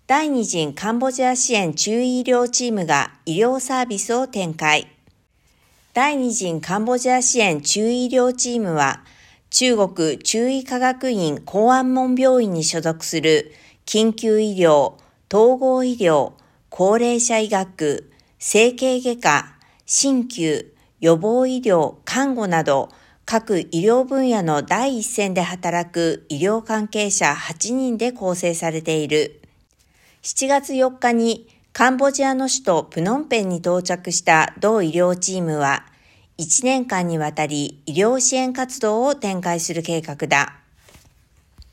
第2陣カンボジア支援中医医療チームが医療サービスを展開。第2陣カンボジア支援中医医療チームは、中国中医科学院光安門病院に所属する緊急医療、統合医療、高齢者医学、整形外科、鍼灸、予防医療、看護など、各医療分野の第一線で働く医療関係者8人で構成されている。7月4日にカンボジアの首都プノンペンに到着した同医療チームは、1年間にわたり医療支援活動を展開する計画だ。